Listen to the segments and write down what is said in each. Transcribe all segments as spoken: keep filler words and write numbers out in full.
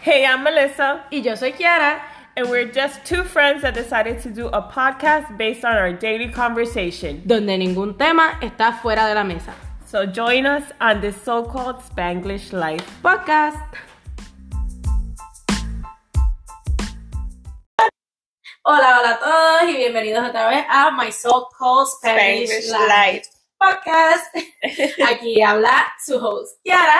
Hey, I'm Melissa. Y yo soy Kiara. And we're just two friends that decided to do a podcast based on our daily conversation. Donde ningún tema está fuera de la mesa. So join us on this so-called Spanglish Life podcast. Hola, hola a todos y bienvenidos otra vez a My So-Called Spanish, Spanglish Life, Life podcast. Aquí habla su host Kiara.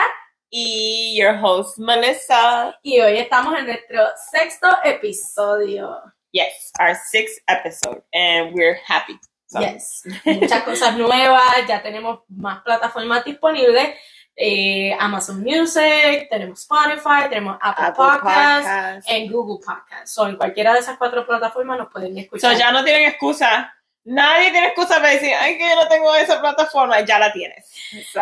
Y your host, Melissa. Y hoy estamos en nuestro sexto episodio. Yes, our sixth episode. And we're happy. So. Yes. Muchas cosas nuevas. Ya tenemos más plataformas disponibles. Eh, Amazon Music, tenemos Spotify, tenemos Apple, Apple Podcasts, Podcasts. en Google Podcasts. So, en cualquiera de esas cuatro plataformas nos pueden escuchar. So ya no tienen excusa. Nadie tiene excusa para decir, ay, que yo no tengo esa plataforma. Ya la tienes. So,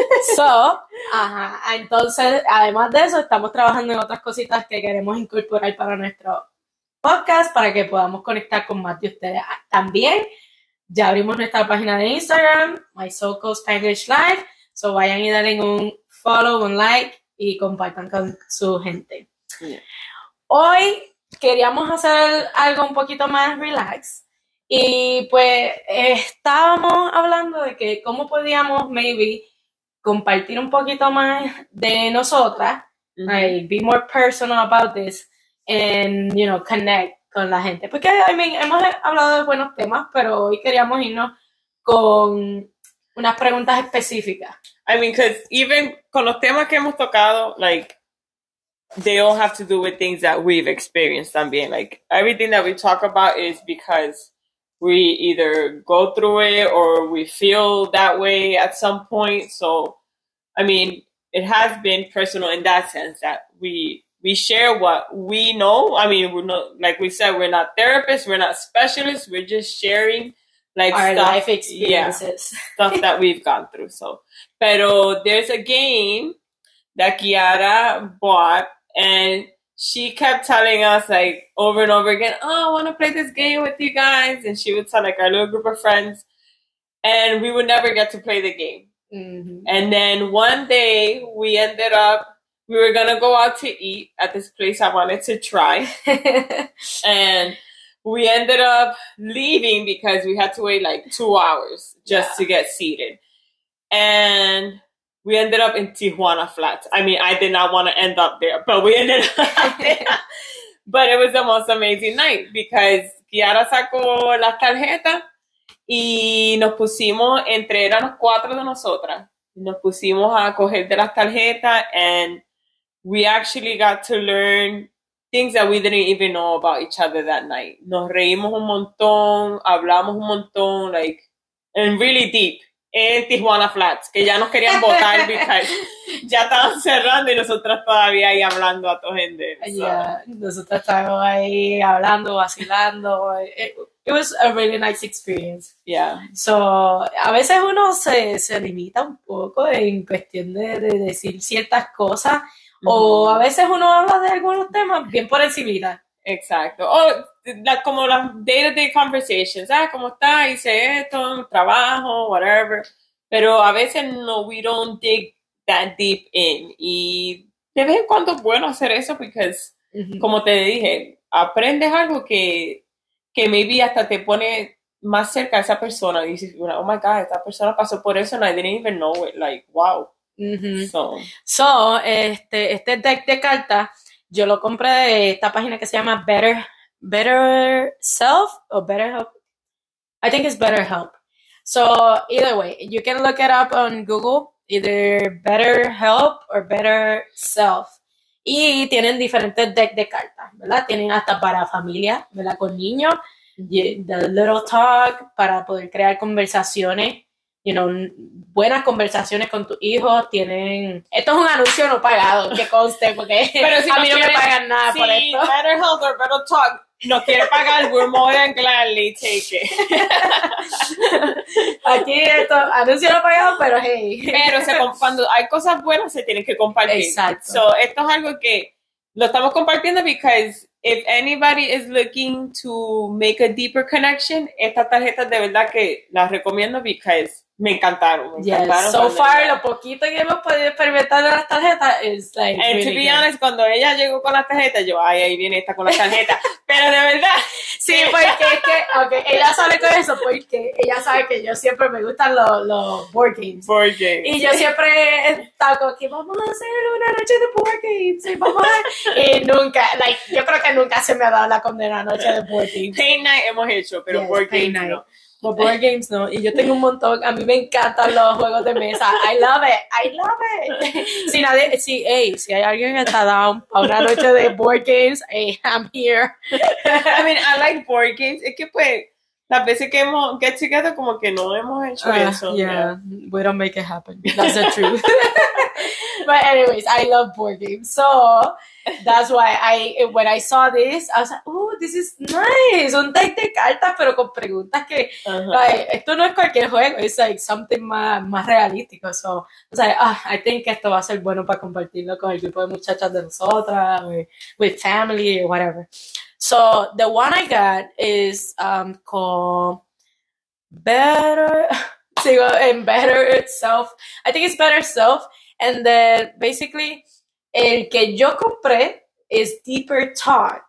so ajá. Entonces, además de eso, estamos trabajando en otras cositas que queremos incorporar para nuestro podcast, para que podamos conectar con más de ustedes. También, ya abrimos nuestra página de Instagram, My So-Called Spanglish Life. So, vayan y denle un follow, un like y compartan con su gente. yeah. Hoy queríamos hacer algo un poquito más relax. Y pues eh, estábamos hablando de que cómo podíamos maybe compartir un poquito más de nosotras, Mm-hmm. like, be more personal about this, and, you know, connect con la gente. Porque, I mean, hemos hablado de buenos temas, pero hoy queríamos irnos con unas preguntas específicas. I mean, because even con los temas que hemos tocado, like, they all have to do with things that we've experienced también. Like, everything that we talk about is because we either go through it or we feel that way at some point. So, I mean, it has been personal in that sense that we we share what we know. I mean, we're not, like we said, we're not therapists, we're not specialists, we're just sharing like Our stuff, life experiences. yeah, stuff that we've gone through. So, pero there's a game that Kiara bought, and she kept telling us, like, over and over again, oh, I want to play this game with you guys. And she would tell, like, our little group of friends. And we would never get to play the game. Mm-hmm. And then one day, we ended up, we were going to go out to eat at this place I wanted to try. And we ended up leaving because we had to wait, like, two hours just yeah. to get seated. And we ended up in Tijuana Flats. I mean, I did not want to end up there, but we ended up there. But it was the most amazing night because Kiara sacó las tarjetas y nos pusimos, entre éramos cuatro de nosotras, nos pusimos a coger de las tarjetas, and we actually got to learn things that we didn't even know about each other that night. Nos reímos un montón, hablamos un montón, like, and really deep. En Tijuana Flats, que ya nos querían botar because ya estaban cerrando y nosotras todavía ahí hablando a toda gente. So. Yeah, nosotros estábamos ahí hablando, vacilando. It, it was a really nice experience. Yeah. So, a veces uno se, se limita un poco en cuestión de, de decir ciertas cosas, mm-hmm. o a veces uno habla de algunos temas bien por encimita. Exacto. O la, como las day-to-day conversations. Ah, ¿cómo está? Hice esto, trabajo, whatever. Pero a veces no, we don't dig that deep in. Y de vez en cuando es bueno hacer eso porque, mm-hmm. como te dije, aprendes algo que, que maybe hasta te pone más cerca a esa persona. Y dices, oh my God, esta persona pasó por eso and I didn't even know it. Like, wow. Mm-hmm. So, so este, este deck de cartas yo lo compré de esta página que se llama Better, Better Self o Better Help. I think it's Better Help. So either way, you can look it up on Google, either Better Help or Better Self. Y tienen diferentes decks de cartas, ¿verdad? Tienen hasta para familia, ¿verdad? Con niños, the Little Talk, para poder crear conversaciones, you know, buenas conversaciones con tus hijos. Tienen, esto es un anuncio no pagado, que conste, porque pero si a no mí no quiere, me pagan nada si por esto. Better Health or Better Talk no quiere pagar, we're more than gladly take it. Aquí esto, anuncio no pagado, pero hey. Pero se, cuando hay cosas buenas se tienen que compartir. Exacto. So, esto es algo que lo estamos compartiendo because if anybody is looking to make a deeper connection, estas tarjetas de verdad que las recomiendo because Me encantaron, me Yes. encantaron. So far, ella... lo poquito que hemos podido experimentar de las tarjetas es like. And really to be good. honest, cuando ella llegó con las tarjetas, yo, ay, ahí viene esta con las tarjetas. Pero de verdad. Sí, porque es que, okay, ella sale con eso porque ella sabe que yo siempre me gustan los, los board games. Board games. Y yo siempre he estado con que vamos a hacer una noche de board games. Y, vamos a... y nunca, like, yo creo que nunca se me ha dado la condena noche de board games. Paint night hemos hecho, pero Yes, board paint games night. no. Los board games no, y yo tengo un montón, a mí me encantan los juegos de mesa, I love it, I love it. Si nadie, si, hey, si hay alguien que está down a una noche de board games, hey, I'm here. I mean, I like board games, es que pues, las veces que hemos get together como que no hemos hecho Uh, eso. yeah, Yeah. we don't make it happen, that's the truth. But anyways, I love board games, so that's why I, when I saw this, I was like, oh, this is nice, un deck de cartas, pero con preguntas que, Uh-huh. like, esto no es cualquier juego, it's like something más, más realístico, so, I was like, ah, I think esto va a ser bueno para compartirlo con el grupo de muchachas de nosotras, or with family, or whatever. So, the one I got is, um, called Better, sigo en Better Self, I think it's Better Self, and then, basically, el que yo compré es Deeper Talk.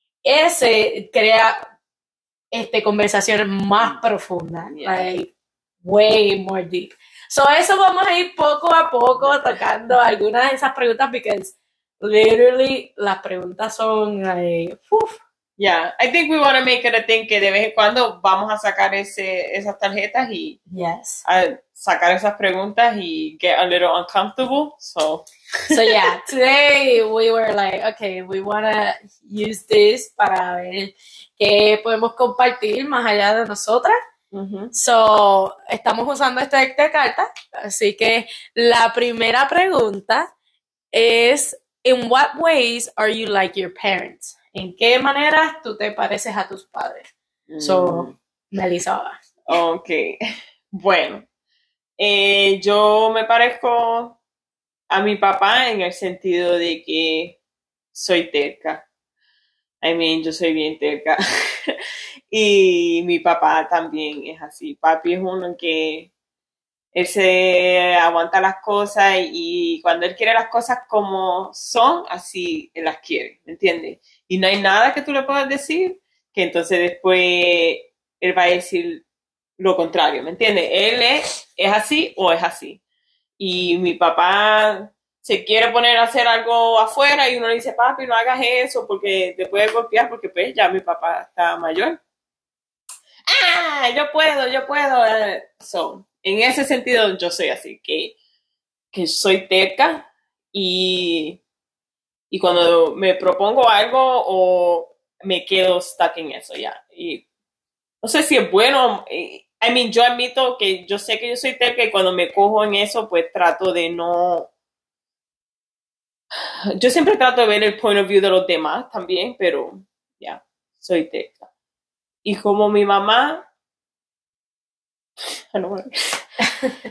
Ese crea este, conversaciones más profundas, Yeah. like way more deep. So eso vamos a ir poco a poco tocando algunas de esas preguntas because literally las preguntas son like, uf. Yeah, I think we want to make it a thing que de vez en cuando vamos a sacar ese, esas tarjetas y Yes. a sacar esas preguntas y get a little uncomfortable, so... So yeah, today we were like, okay, we want to use this para ver qué podemos compartir más allá de nosotras. Uh-huh. So, estamos usando este deck de cartas, así que la primera pregunta es, in what ways are you like your parents? ¿En qué maneras tú te pareces a tus padres? Mm. So, Melissa. Ok, bueno, eh, yo me parezco a mi papá en el sentido de que soy terca. I mean, yo soy bien terca. Y mi papá también es así. Papi es uno que él se aguanta las cosas y cuando él quiere las cosas como son, así él las quiere, ¿me entiendes? Y no hay nada que tú le puedas decir que entonces después él va a decir lo contrario, ¿me entiendes? Él es, es así o es así. Y mi papá se quiere poner a hacer algo afuera y uno le dice, papi, no hagas eso porque te puede golpear porque pues ya mi papá está mayor. Ah, yo puedo, yo puedo. So, en ese sentido yo soy así, que, que soy terca y, y cuando me propongo algo o me quedo stuck en eso ya. Y no sé si es bueno. I mean, yo admito que yo sé que yo soy terca y cuando me cojo en eso, pues trato de no... Yo siempre trato de ver el point of view de los demás también, pero ya, yeah, soy terca. Y como mi mamá... I don't want to...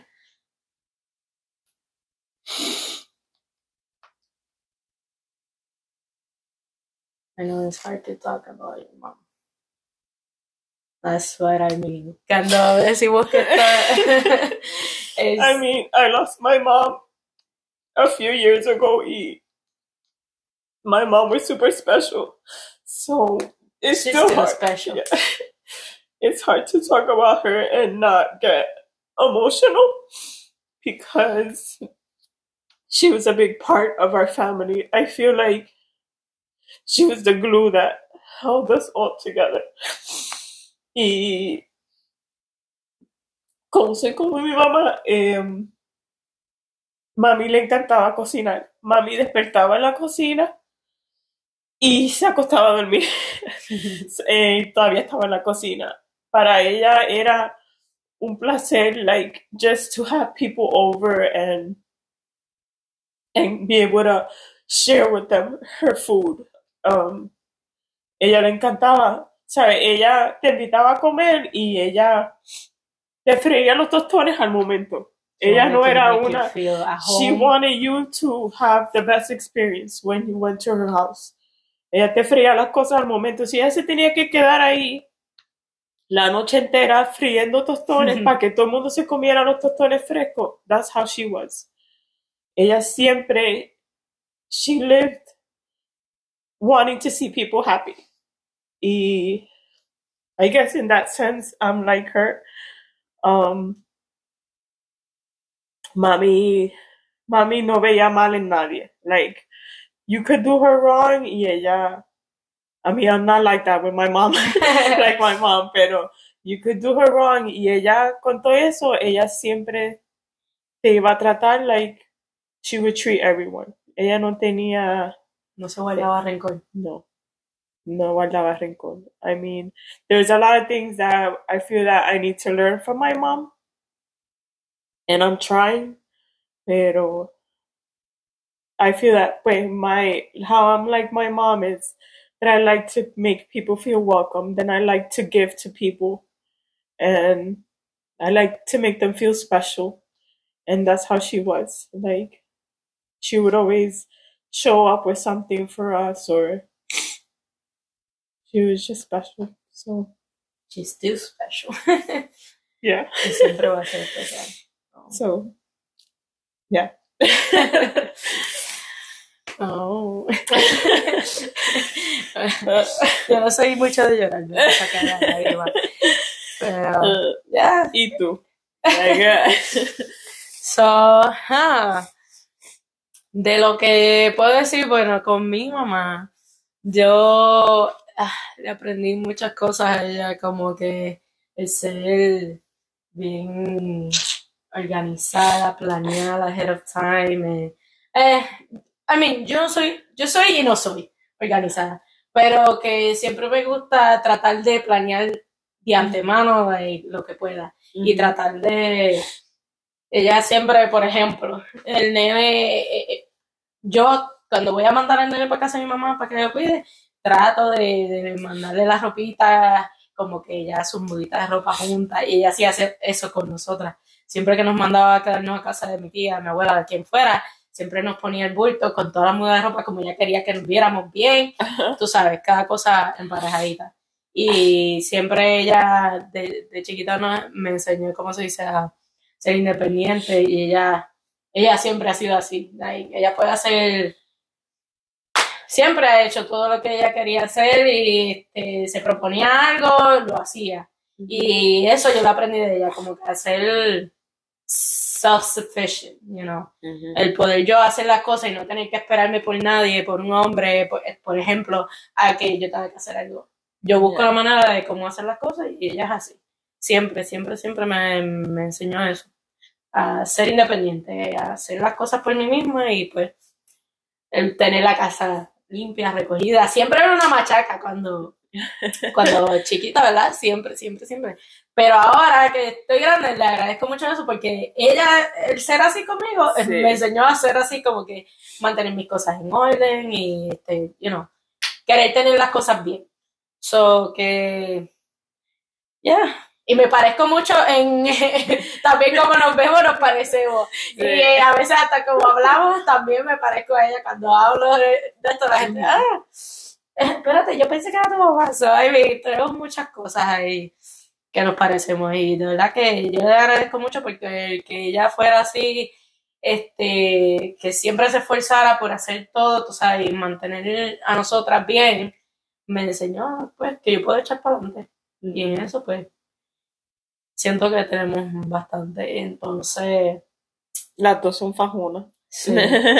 I know it's hard to talk about your mom. That's what I mean. Cuando decimos que está... es... I mean, I lost my mom a few years ago y my mom was super special. So it's She's still still hard. special. Yeah. It's hard to talk about her and not get emotional because she was a big part of our family. I feel like she was the glue that held us all together. Y como soy como mi mamá, eh, mami le encantaba cocinar. Mami despertaba en la cocina y se acostaba a dormir. eh, todavía estaba en la cocina. Para ella era un placer, like, just to have people over and and be able to share with them her food. Um, ella le encantaba, ¿sabes? Ella te invitaba a comer y ella te freía los tostones al momento. Ella no era una... She wanted you to have the best experience when you went to her house. Ella te freía las cosas al momento. Si ella se tenía que quedar ahí la noche entera friendo tostones para que todo el mundo se comiera los tostones frescos. That's how she was. Ella siempre, she lived wanting to see people happy. Y I guess in that sense, I'm like her. Um, mami, mami no veía mal en nadie. Like, you could do her wrong y ella, I mean, I'm not like that with my mom, like my mom, pero you could do her wrong y ella, con todo eso, ella siempre te iba a tratar like she would treat everyone. Ella no tenía... No se guardaba rencor. No. No guardaba rencor. I mean, there's a lot of things that I feel that I need to learn from my mom. And I'm trying. Pero I feel that pues, my how I'm like my mom is that I like to make people feel welcome. Then I like to give to people. And I like to make them feel special. And that's how she was. Like, she would always show up with something for us, or she was just special. So she's still special. Yeah. Y siempre va a ser especial. Oh. So, yeah. Oh. Yo no soy mucho de llorar, no me saca la lágrima. Pero, Uh, yeah. ¿Y tú? Like, So, huh. De lo que puedo decir, bueno, con mi mamá, yo ah, le aprendí muchas cosas a ella, como que el ser bien organizada, planeada ahead of time. Eh, I mean, yo no soy, yo soy y no soy organizada, pero que siempre me gusta tratar de planear de antemano like, lo que pueda mm-hmm. y tratar de, ella siempre, por ejemplo, el nene, eh, yo cuando voy a mandar al nene para casa de mi mamá para que lo cuide, trato de, de mandarle las ropitas, como que ya sus muditas de ropa juntas, y ella sí hace eso con nosotras. Siempre que nos mandaba a quedarnos a casa de mi tía, mi abuela, de quien fuera, siempre nos ponía el bulto con toda la muda de ropa, como ella quería que nos viéramos bien, uh-huh. Tú sabes, cada cosa emparejadita. Y siempre ella, de, de chiquita, no, me enseñó cómo se dice a ser independiente, y ella, ella siempre ha sido así. Like, ella puede hacer... Siempre ha hecho todo lo que ella quería hacer y este, se proponía algo, lo hacía. Uh-huh. Y eso yo lo aprendí de ella, como que hacer self-sufficient, you know. Uh-huh. El poder yo hacer las cosas y no tener que esperarme por nadie, por un hombre, por, por ejemplo, a que yo tenga que hacer algo. Yo busco yeah. la manera de cómo hacer las cosas y ella es así. Siempre, siempre, siempre me, me enseñó eso. A ser independiente, a hacer las cosas por mí misma y pues el tener la casa limpia, recogida. Siempre era una machaca cuando, cuando chiquita, ¿verdad? Siempre, siempre, siempre. Pero ahora que estoy grande, le agradezco mucho eso porque ella, el ser así conmigo, sí. me enseñó a ser así como que mantener mis cosas en orden y, este, you know, querer tener las cosas bien. So, que, yeah. Y me parezco mucho en, también como nos vemos, nos parecemos. Sí. Y eh, a veces hasta como hablamos, también me parezco a ella cuando hablo de, de esto. La gente, ah, espérate, yo pensé que era tu mamá. So, I mean, tenemos muchas cosas ahí que nos parecemos. Y de verdad que yo le agradezco mucho porque que ella fuera así, este, que siempre se esforzara por hacer todo, tú sabes, y mantener a nosotras bien, me enseñó, pues, que yo puedo echar para adelante. Mm. Y en eso, pues, siento que tenemos bastante, entonces... Las dos son fajonas. Sí,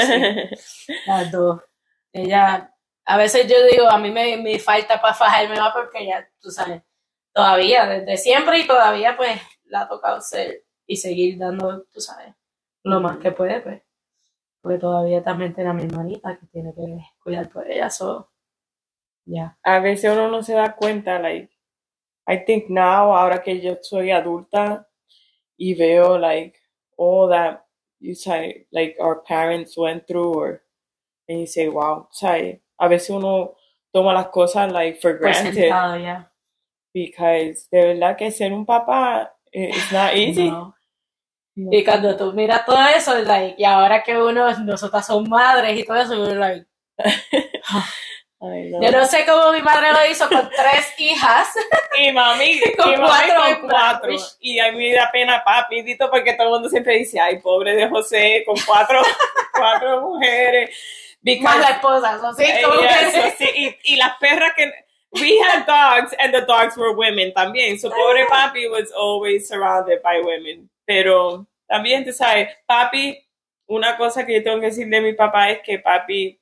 sí, las dos. Ella, a veces yo digo, a mí me, me falta para fajarme más porque ya, tú sabes, todavía, desde siempre y todavía, pues, la ha tocado ser y seguir dando, tú sabes, lo más que puede, pues. Porque todavía también tiene a mi hermanita que tiene que cuidar por ella, so, ya. Yeah. A veces uno no se da cuenta, like, I think now, ahora que yo soy adulta y veo like all that you say, like our parents went through, or and you say, wow, say, a veces uno toma las cosas like for granted. Presentado, yeah. Because de verdad que ser un papá it's not easy. No. No. Y cuando tú miras todo eso, like, y ahora que uno, nosotras somos madres y todo eso, we're like, Ay, no. Yo no sé cómo mi madre lo hizo con tres hijas. Y mami, con y mami cuatro, con cuatro. Y a mí me da pena papi, Dito, porque todo el mundo siempre dice, ay, pobre de José, con cuatro, cuatro mujeres. Because, más la esposa, ¿no? Sí, como yeah, que... so, sí, y, y las perras que... We had dogs, and the dogs were women también. So, pobre papi was always surrounded by women. Pero también, tú sabes, papi, una cosa que yo tengo que decir de mi papá es que papi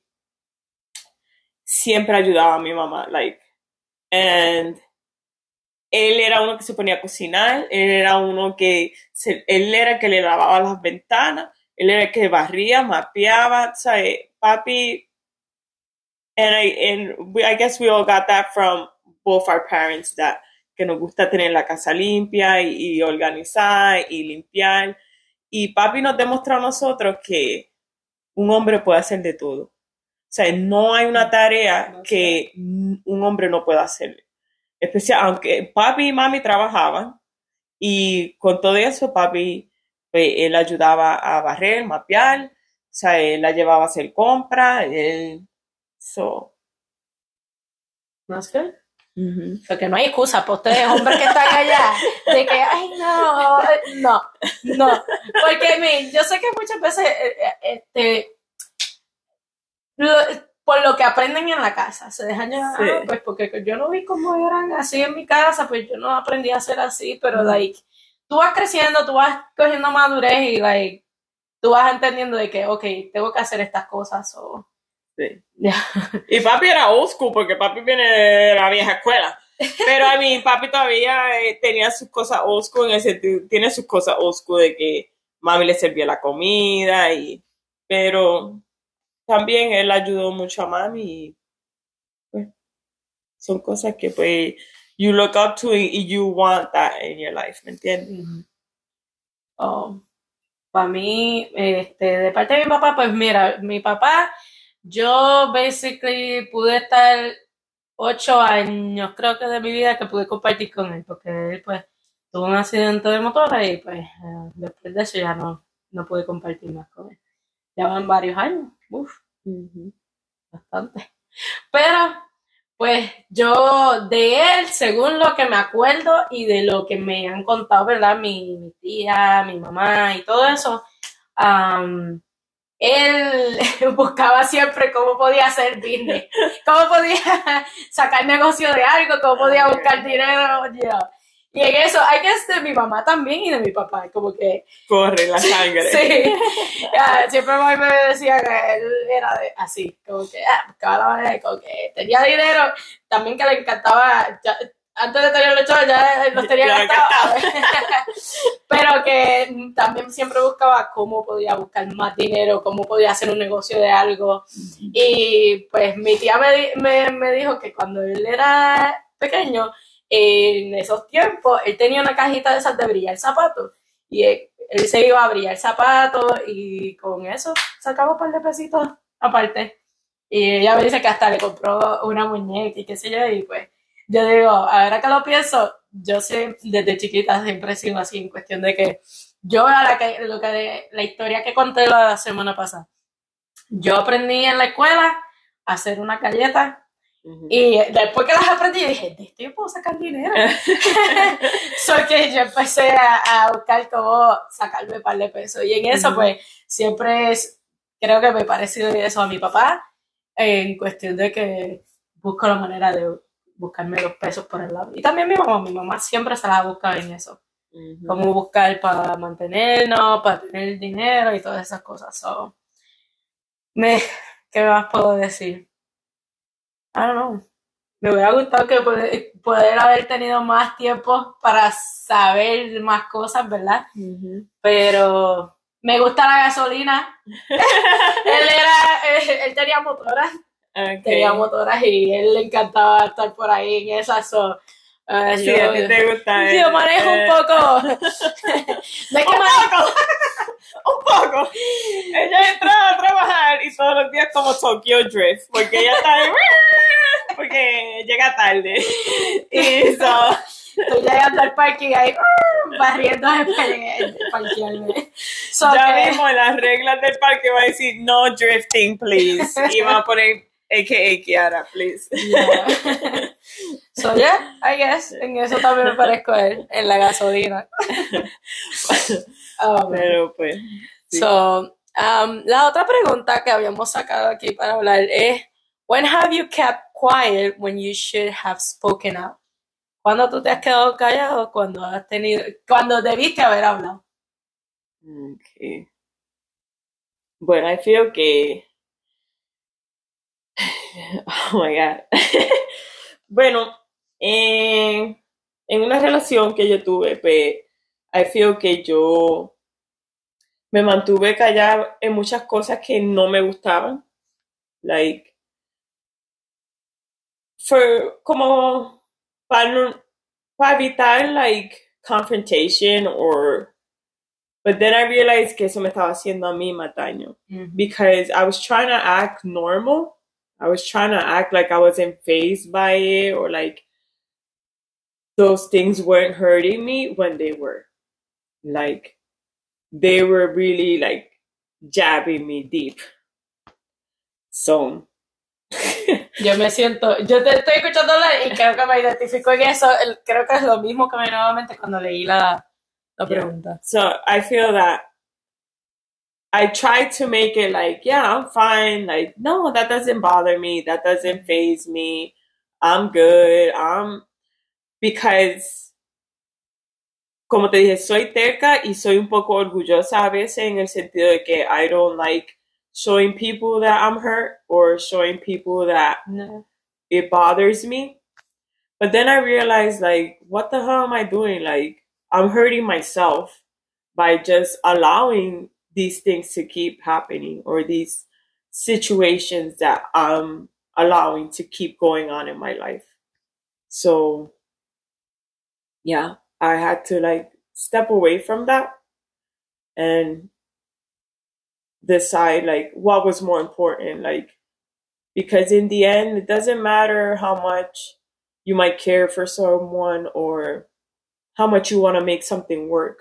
siempre ayudaba a mi mamá, like, and él era uno que se ponía a cocinar, él era uno que, se, él era el que le lavaba las ventanas, él era el que barría, mapeaba, ¿sabes? Papi, and I, and we, I guess we all got that from both our parents, that, que nos gusta tener la casa limpia y, y organizar y limpiar, y papi nos demostró a nosotros que un hombre puede hacer de todo. O sea, no hay una tarea no sé. que un hombre no pueda hacer. Especial, aunque papi y mami trabajaban, y con todo eso, papi, pues, él ayudaba a barrer, mapear, o sea, él la llevaba a hacer compras, él, so. ¿No es que? Uh-huh. Porque no hay excusa para ustedes, hombres que están allá, de que, ay, no, no, no. Porque, mira, yo sé que muchas veces, este, lo, por lo que aprenden en la casa, se dejan llevar, sí. Pues porque yo no vi cómo eran así en mi casa, pues yo no aprendí a ser así, pero, mm. like, tú vas creciendo, tú vas cogiendo madurez y, like, tú vas entendiendo de que, ok, tengo que hacer estas cosas, o... Sí. Yeah. Y papi era old school, porque papi viene de la vieja escuela, pero a mí papi todavía eh, tenía sus cosas old school, en el sentido, tiene sus cosas old school de que mami le servía la comida, y pero... También él ayudó mucho a mami y pues, son cosas que pues you look up to y you want that in your life, ¿me entiendes? Mm-hmm. Oh, para mí, este, de parte de mi papá, pues mira, mi papá, yo basically pude estar ocho años, creo que de mi vida que pude compartir con él, porque él pues tuvo un accidente de motora y pues uh, después de eso ya no, no pude compartir más con él. Ya van varios años. Uf, uh-huh. Bastante. Pero, pues, yo de él, según lo que me acuerdo y de lo que me han contado, ¿verdad? Mi, mi tía, mi mamá y todo eso, um, él buscaba siempre cómo podía hacer business, cómo podía sacar negocio de algo, cómo podía buscar dinero, you know. Y en eso, hay que es de mi mamá también y de mi papá, como que... Corre la sangre. Sí. Yeah, siempre mami me decía que él era de, así, como que ah, buscaba la manera, como que tenía dinero, también que le encantaba, ya, antes de tener los chavos ya los tenía gastados. Pero que también siempre buscaba cómo podía buscar más dinero, cómo podía hacer un negocio de algo. Y pues mi tía me, me, me dijo que cuando él era pequeño, en esos tiempos, él tenía una cajita de esas de brillar zapatos y él, él se iba a brillar zapatos y con eso sacaba un par de pesitos aparte. Y ella me dice que hasta le compró una muñeca y qué sé yo, y pues yo digo, ahora que lo pienso, yo sé, desde chiquita siempre he sido así, en cuestión de que yo, a la, que, lo que, la historia que conté la semana pasada, yo aprendí en la escuela a hacer una galleta. Uh-huh. Y después que las aprendí dije, de esto yo puedo sacar dinero. So que yo empecé a, a buscar cómo sacarme un par de pesos y en eso uh-huh. Pues siempre es, creo que me he parecido eso a mi papá, en cuestión de que busco la manera de buscarme los pesos por el lado, y también mi mamá, mi mamá siempre se la busca en eso, uh-huh. Cómo buscar para mantenernos, para tener dinero y todas esas cosas. So, me, ¿qué más puedo decir? I don't know. Me hubiera gustado que poder, poder haber tenido más tiempo para saber más cosas, ¿verdad? Uh-huh. Pero me gusta la gasolina. Él era, él, él tenía motoras. Okay. Tenía motoras y él le encantaba estar por ahí en esas. So, uh, sí, yo, a ti te gusta. Yo manejo eh. un poco. ¿De qué un poco? Un poco. Ella entraba a trabajar y todos los días como Tokyo Drift, porque ella está ahí, porque llega tarde. Y so, estoy llegando al parking ahí, barriendo el parquearme. So ya que, mismo las reglas del parque va a decir no drifting, please. Y va a poner A K A Kiara, please. Yeah. So yeah, I guess en eso también me parezco a él, en la gasolina. Um, Pero pues. Sí. So, um, la otra pregunta que habíamos sacado aquí para hablar es, when have you kept quiet when you should have spoken out? ¿Cuándo tú te has quedado callado cuando has tenido, cuando debiste haber hablado? Okay. Bueno, I feel que oh my God. Bueno, en, en una relación que yo tuve, pues, I feel que yo me mantuve callada en muchas cosas que no me gustaban. Like, for, como, para, no, para evitar, like, confrontation or, but then I realized que eso me estaba haciendo a mí más daño. Mm-hmm. Because I was trying to act normal. I was trying to act like I wasn't fazed by it or like those things weren't hurting me when they were. Like, they were really like jabbing me deep. So. Yo me siento, yo te estoy escuchando hablar y creo que me identifico en eso. El, creo que es lo mismo que me nuevamente cuando leí la, la pregunta. Yeah. So I feel that I tried to make it like, yeah, I'm fine. Like, no, that doesn't bother me. That doesn't faze me. I'm good. I'm, because, como te dije, soy terca y soy un poco orgullosa a veces en el sentido de que I don't like showing people that I'm hurt or showing people that no. It bothers me. But then I realized, like, what the hell am I doing? Like, I'm hurting myself by just allowing these things to keep happening or these situations that I'm allowing to keep going on in my life. So, yeah, I had to like step away from that and decide like what was more important. Like, because in the end, it doesn't matter how much you might care for someone or how much you want to make something work.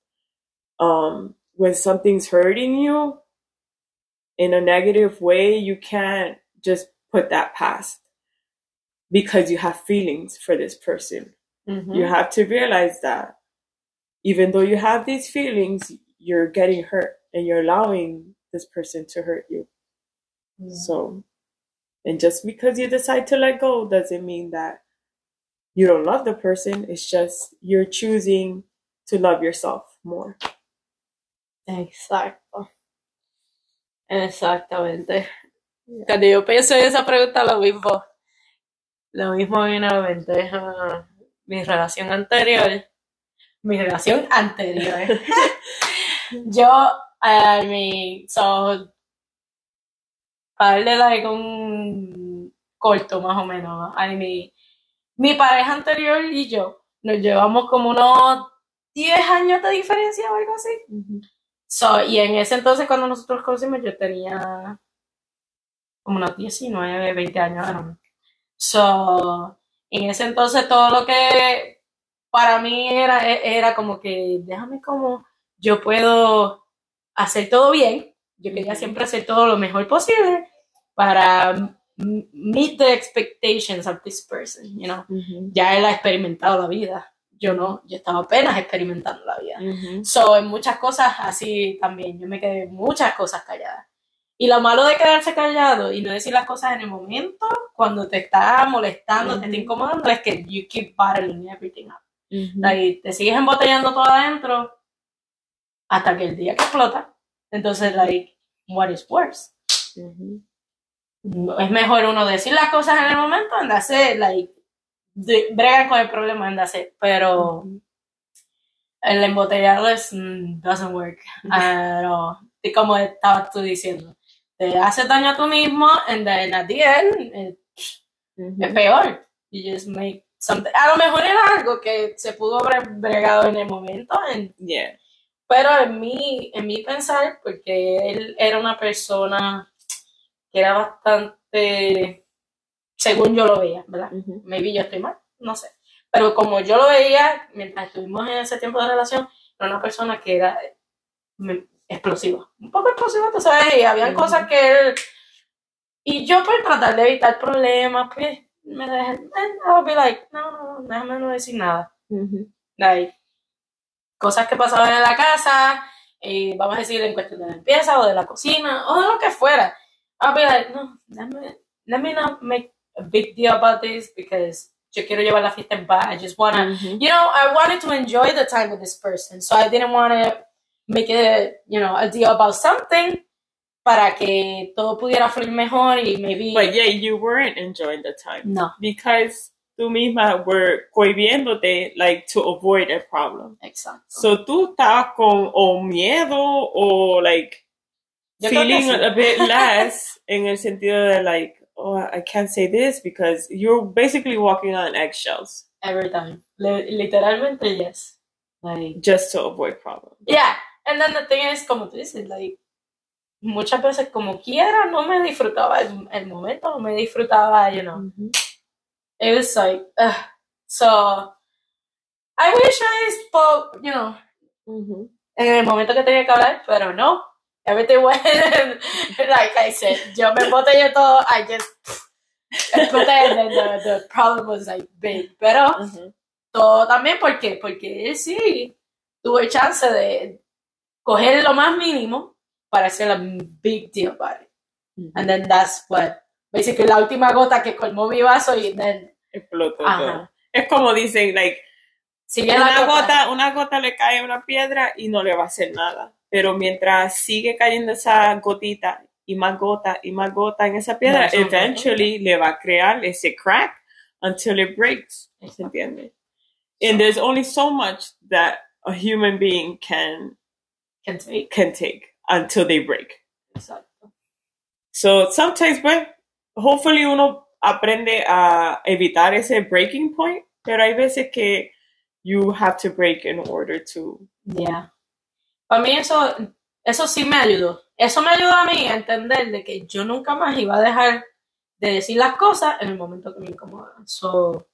Um, when something's hurting you in a negative way, you can't just put that past because you have feelings for this person. Mm-hmm. You have to realize that even though you have these feelings, you're getting hurt and you're allowing this person to hurt you. Mm-hmm. So, and just because you decide to let go doesn't mean that you don't love the person. It's just you're choosing to love yourself more. Exacto. Exactamente. Yeah. Cuando yo pienso en esa pregunta, lo mismo, lo mismo viene a la mente. Uh, mi relación anterior, mi relación anterior. Yo, I mean, so, para darle like un corto más o menos, I mean, mi pareja anterior y yo nos llevamos como unos diez años de diferencia o algo así. Uh-huh. So, y en ese entonces cuando nosotros nos conocimos yo tenía como unos diecinueve, veinte años. ¿No? So, en ese entonces todo lo que para mí era, era como que déjame como yo puedo hacer todo bien. Yo quería siempre hacer todo lo mejor posible para meet the expectations of this person, you know. Uh-huh. Ya él ha experimentado la vida. Yo no, yo estaba apenas experimentando la vida. Uh-huh. So, en muchas cosas así también, yo me quedé muchas cosas calladas. Y lo malo de quedarse callado y no decir las cosas en el momento, cuando te está molestando, uh-huh. te está incomodando, es que you keep bottling everything up. Uh-huh. Like, te sigues embotellando todo adentro hasta que el día que explota. Entonces, like, what is worse? Uh-huh. Es mejor uno decir las cosas en el momento and that's it, like, de, bregan con el problema and that's it, pero uh-huh. el embotellado es, mm, doesn't work. Uh, y como estabas tú diciendo, te hace daño a tú mismo and then at the end it, uh-huh. es peor. You just make something, a lo mejor era algo que se pudo haber bregado en el momento and, yeah. Pero en mi, en mi pensar, porque él era una persona que era bastante, según yo lo veía, ¿verdad? Uh-huh. Maybe yo estoy mal, no sé. Pero como yo lo veía, mientras estuvimos en ese tiempo de relación, era una persona que era explosiva. Un poco explosiva, tú sabes, y habían uh-huh. cosas que él Y yo por tratar de evitar problemas, pues, me dejé, I'll be like, no, no, no, déjame no decir nada. Mm-hmm. Like, cosas que pasaban en la casa, eh, vamos a decir en cuestión de la limpieza o de la cocina o de lo que fuera. I'll be like, no, let me, let me not make a big deal about this because yo quiero llevar la fiesta en paz. I just want to, mm-hmm. you know, I wanted to enjoy the time with this person. So I didn't want to make it, you know, a deal about something para que todo pudiera fluir mejor y maybe... But yeah, you weren't enjoying the time. No. Because tú misma were cohibiéndote, like, to avoid a problem. Exacto. So tú estabas con o miedo o, like, Yo feeling sí. a bit less en el sentido de, like, oh, I can't say this because you're basically walking on eggshells. Every time. L- literalmente, yes. Like... Just to avoid problems. Yeah. And then the thing is, como tú dices, like, muchas veces como quiera no me disfrutaba el, el momento, no me disfrutaba, you know. Mm-hmm. It was like, uh, so, I wish I spoke, you know, mm-hmm. en el momento que tenía que hablar, pero no. Everything went, like I said, yo me botellé todo, I just, but then the, the problem was like big. Pero, mm-hmm. todo también, ¿por qué? Porque él sí tuvo el chance de coger lo más mínimo para hacer a big deal about it. Mm-hmm. And then that's what, basically, la última gota que colmó mi vaso y then... Explotó todo. Es como dicen, like, si una gota. gota, una gota le cae a una piedra y no le va a hacer nada. Pero mientras sigue cayendo esa gotita y más gota y más gota en esa piedra, no, eventually no. le va a crear ese crack until it breaks. ¿Se entiende? So, and there's only so much that a human being can can take, can take until they break. Exacto. So sometimes, pues, hopefully uno aprende a evitar ese breaking point, pero hay veces que you have to break in order to... Yeah. Para mí eso, eso sí me ayudó. Eso me ayudó a mí a entender de que yo nunca más iba a dejar de decir las cosas en el momento que me incomodan. So,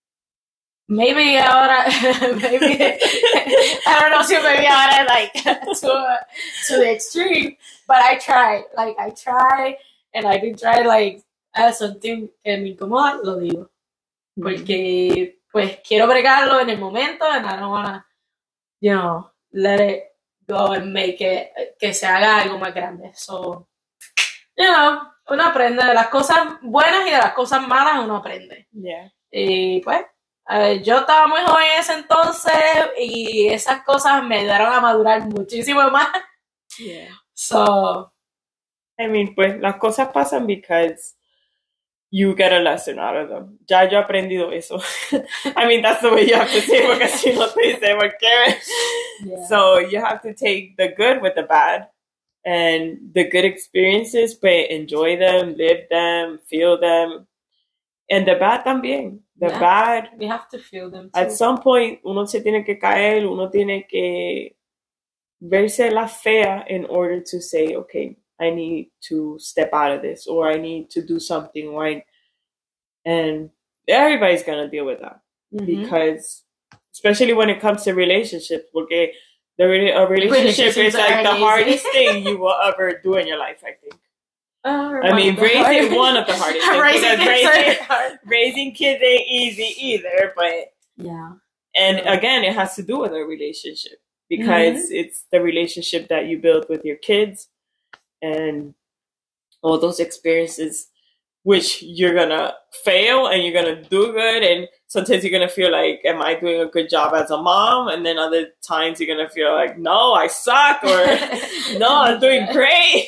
maybe ahora, maybe, I don't know si maybe ahora, like, to, to the extreme, but I try, like, I try, and I do try, like, as something que me incomoda, lo digo. Porque, pues, quiero bregarlo en el momento, and I don't wanna, you know, let it go and make it, que se haga algo más grande. So, you know, uno aprende de las cosas buenas y de las cosas malas, uno aprende. Yeah. Y, pues, Uh, yo estaba muy joven en ese entonces y esas cosas me ayudaron a madurar muchísimo más. Yeah. So, I mean, pues las cosas pasan because you get a lesson out of them. Ya yo he aprendido eso. I mean, that's the way you have to say it, porque si no te dice por qué. Yeah. So you have to take the good with the bad, and the good experiences, but enjoy them, live them, feel them, and the bad también. The yeah, bad, we have to feel them too. At some point, uno se tiene que caer, uno tiene que verse la fea in order to say, okay, I need to step out of this, or I need to do something, or I, and everybody's gonna deal with that. Mm-hmm. Because, especially when it comes to relationships, porque the, a relationship is like the hardest thing you will ever do in your life, I think. Uh, I mean, raising hard. one of the hardest things. raising, kids raising, raising kids ain't easy either, but yeah. And yeah. again, it has to do with a relationship because mm-hmm. it's the relationship that you build with your kids and all those experiences, which you're gonna fail and you're gonna do good, and sometimes you're gonna feel like, am I doing a good job as a mom? And then other times you're gonna feel like, no, I suck, or no, I'm doing great.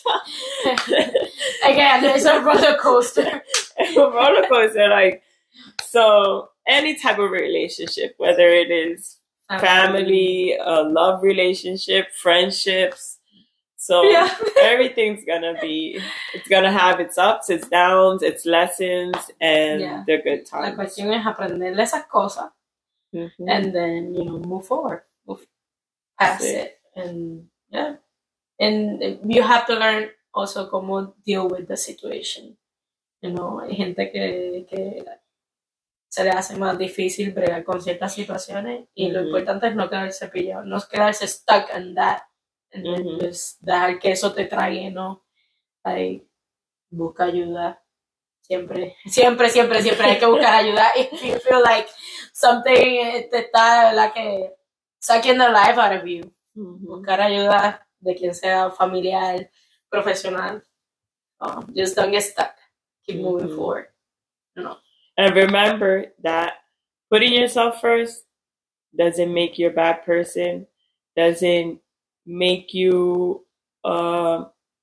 Again, there's a roller coaster. A roller coaster, like, so any type of relationship, whether it is family, a love relationship, friendships, so yeah. Everything's gonna be, it's gonna have its ups, its downs, its lessons, and yeah. the good times. La cuestión es aprenderle esas cosas, mm-hmm. and then, you know, move forward, move past it. it, and yeah, and you have to learn also cómo deal with the situation. You know, hay gente que, que se le hace más difícil bregar con ciertas situaciones, y mm-hmm. lo importante es no quedarse pillado, no quedarse stuck in that. And then mm-hmm. just dejar que eso te trague, ¿no? Like, busca ayuda. Siempre, siempre, siempre, siempre hay que buscar ayuda. If you feel like something te está, la que sucking the life out of you. Mm-hmm. Buscar ayuda de quien sea, familiar, profesional. Oh, just don't get stuck. Keep mm-hmm. moving forward. No. And remember that putting yourself first doesn't make you a bad person, doesn't make you uh,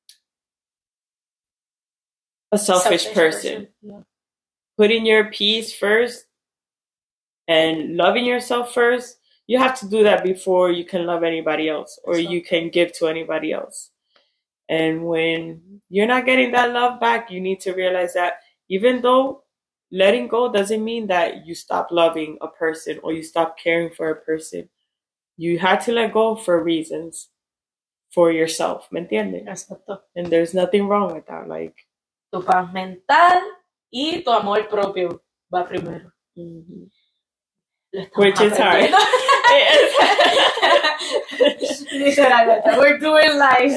a selfish, selfish person. person. Yeah. Putting your peace first and loving yourself first, you have to do that before you can love anybody else or you can give to anybody else. And when you're not getting that love back, you need to realize that even though letting go doesn't mean that you stop loving a person or you stop caring for a person. You had to let go for reasons for yourself, ¿me entiendes? Exacto. And there's nothing wrong with that. Like, tu paz mental y tu amor propio va primero. Mm-hmm. Which is hard. Literalmente, we're doing life.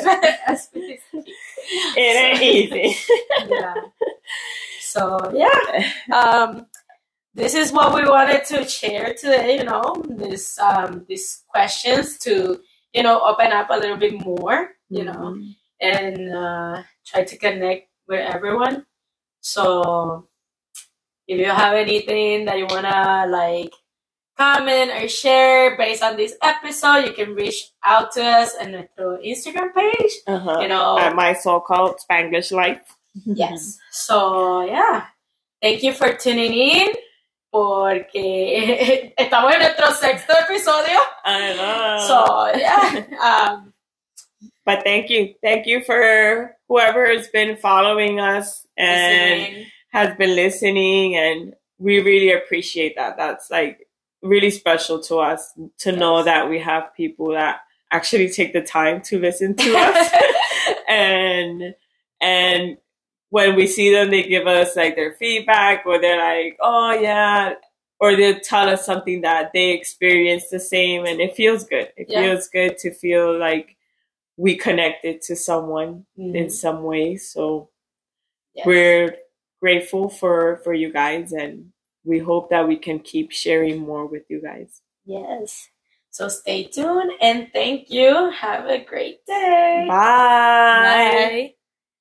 It ain't easy. Yeah. So yeah, um, this is what we wanted to share today. You know, this um, these questions to you know open up a little bit more. You mm-hmm. know, and uh, try to connect with everyone. So if you have anything that you wanna like comment or share based on this episode, you can reach out to us on our Instagram page. Uh-huh. You know, at my so-called Spanglish life. Yes. So yeah, thank you for tuning in. Porque estamos en nuestro sexto episodio. I know. So yeah. Um, but thank you, thank you for whoever has been following us and listening. has been listening, and we really appreciate that. That's like really special to us to yes. know that we have people that actually take the time to listen to us, and and. when we see them, they give us like their feedback, or they're like, oh yeah, or they'll tell us something that they experienced the same, and it feels good. It yeah. feels good to feel like we connected to someone mm-hmm. in some way. So yes. we're grateful for, for you guys, and we hope that we can keep sharing more with you guys. Yes. So stay tuned, and thank you. Have a great day. Bye. Bye.